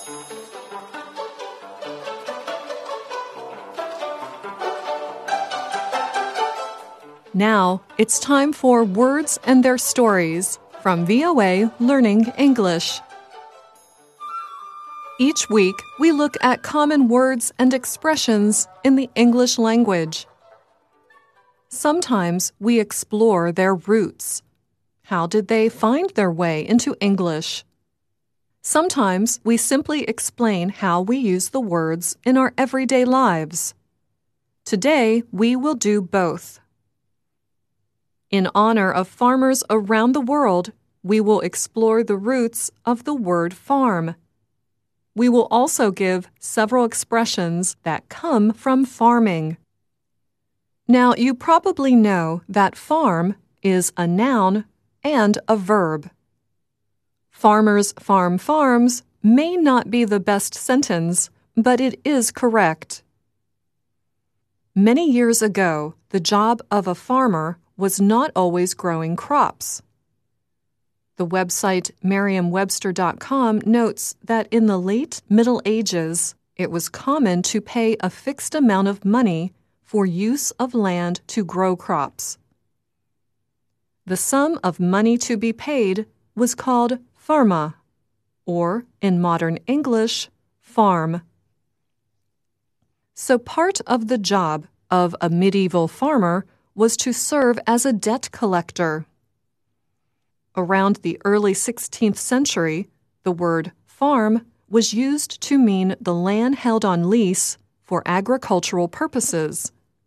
Now, it's time for Words and Their Stories from VOA Learning English. Each week, we look at common words and expressions in the English language. Sometimes we explore their roots. How did they find their way into English? Sometimes we simply explain how we use the words in our everyday lives. Today, we will do both. In honor of farmers around the world, we will explore the roots of the word farm. We will also give several expressions that come from farming. Now, you probably know that farm is a noun and a verb. Farmers farm farms may not be the best sentence, but it is correct. Many years ago, the job of a farmer was not always growing crops. The website Merriam-Webster.com notes that in the late Middle Ages, it was common to pay a fixed amount of money for use of land to grow crops. The sum of money to be paid was called farma, or in modern English, farm. So part of the job of a medieval farmer was to serve as a debt collector. Around the early 16th century, the word farm was used to mean the land held on lease for agricultural purposes.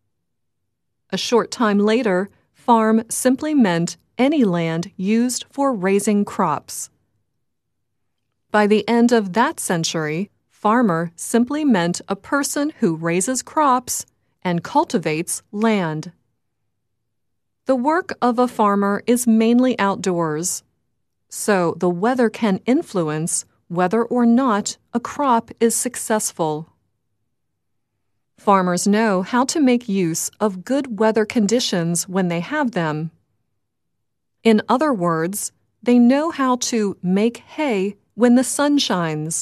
A short time later, farm simply meant any land used for raising crops. By the end of that century, farmer simply meant a person who raises crops and cultivates land. The work of a farmer is mainly outdoors, so the weather can influence whether or not a crop is successful. Farmers know how to make use of good weather conditions when they have them. In other words, they know how to make hay when the sun shines.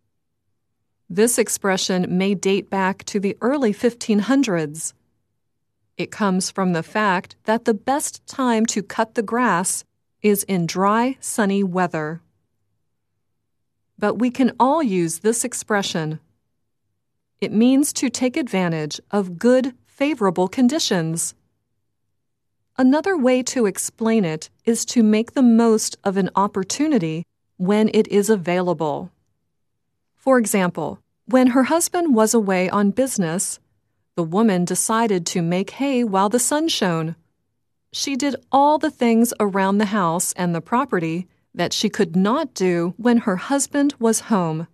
This expression may date back to the early 1500s. It comes from the fact that the best time to cut the grass is in dry, sunny weather. But we can all use this expression. It means to take advantage of good, favorable conditions. Another way to explain it is to make the most of an opportunity when it is available. For example, when her husband was away on business, the woman decided to make hay while the sun shone. She did all the things around the house and the property that she could not do when her husband was home.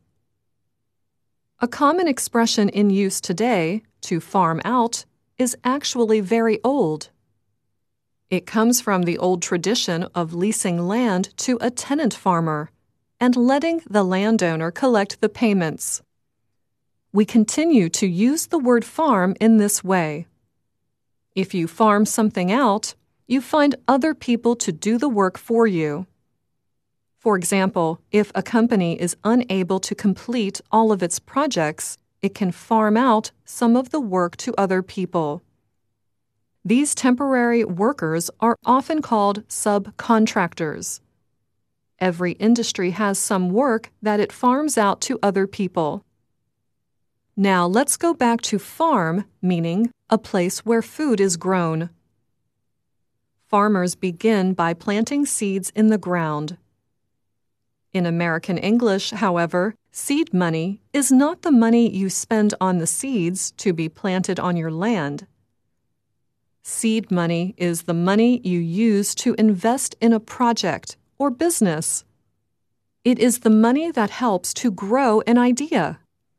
A common expression in use today, to farm out, is actually very old. It comes from the old tradition of leasing land to a tenant farmer and letting the landowner collect the payments. We continue to use the word farm in this way. If you farm something out, you find other people to do the work for you. For example, if a company is unable to complete all of its projects, it can farm out some of the work to other people. These temporary workers are often called subcontractors. Every industry has some work that it farms out to other people. Now let's go back to farm, meaning a place where food is grown. Farmers begin by planting seeds in the ground. In American English, however, seed money is not the money you spend on the seeds to be planted on your land. Seed money is the money you use to invest in a project or business. It is the money that helps to grow an idea.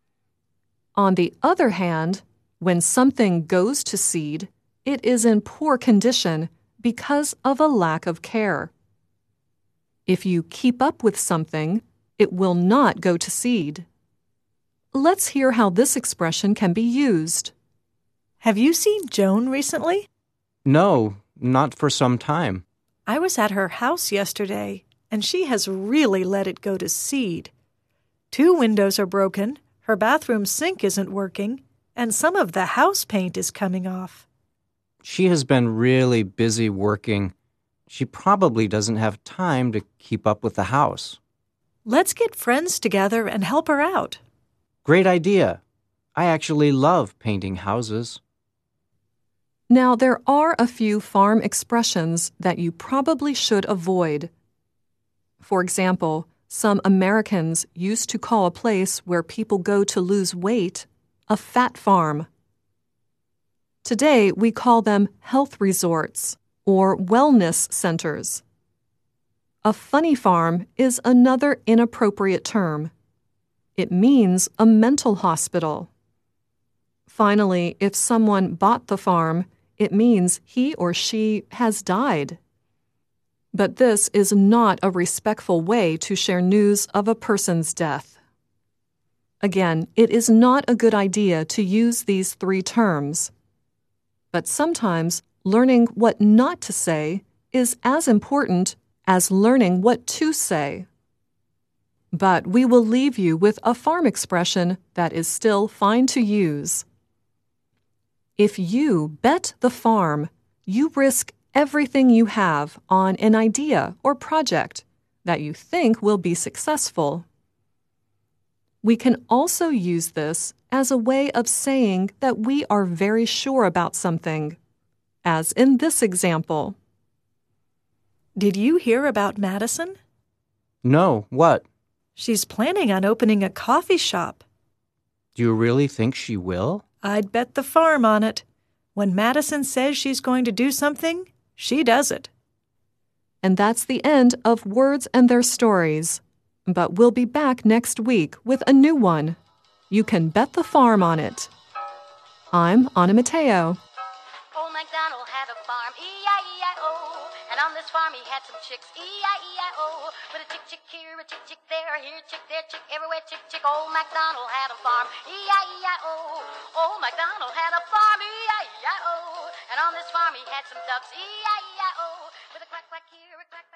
On the other hand, when something goes to seed, it is in poor condition because of a lack of care. If you keep up with something, it will not go to seed. Let's hear how this expression can be used. Have you seen Joan recently? No, not for some time. I was at her house yesterday, and she has really let it go to seed. 2 windows are broken, her bathroom sink isn't working, and some of the house paint is coming off. She has been really busy working. She probably doesn't have time to keep up with the house. Let's get friends together and help her out. Great idea. I actually love painting houses. Now, there are a few farm expressions that you probably should avoid. For example, some Americans used to call a place where people go to lose weight a fat farm. Today, we call them health resorts or wellness centers. A funny farm is another inappropriate term. It means a mental hospital. Finally, if someone bought the farm, it means he or she has died. But this is not a respectful way to share news of a person's death. Again, it is not a good idea to use these 3 terms. But sometimes learning what not to say is as important as learning what to say. But we will leave you with a farm expression that is still fine to use. If you bet the farm, you risk everything you have on an idea or project that you think will be successful. We can also use this as a way of saying that we are very sure about something, as in this example. Did you hear about Madison? No, what? She's planning on opening a coffee shop. Do you really think she will? I'd bet the farm on it. When Madison says she's going to do something, she does it. And that's the end of Words and Their Stories. But we'll be back next week with a new one. You can bet the farm on it. I'm Anna Mateo. Old MacDonald had a farm, E-I-E-I-O. And on this farm he had some chicks, E-I-E-I-O. With a chick, chick here, a chick, chick there, here, chick there, chick everywhere, chick, chick. Old MacDonald had a farm, E-I-E-I-O. Old MacDonald had a farm, E-I-E-I-O. And on this farm he had some ducks, E-I-E-I-O. With a quack, quack here, a quack,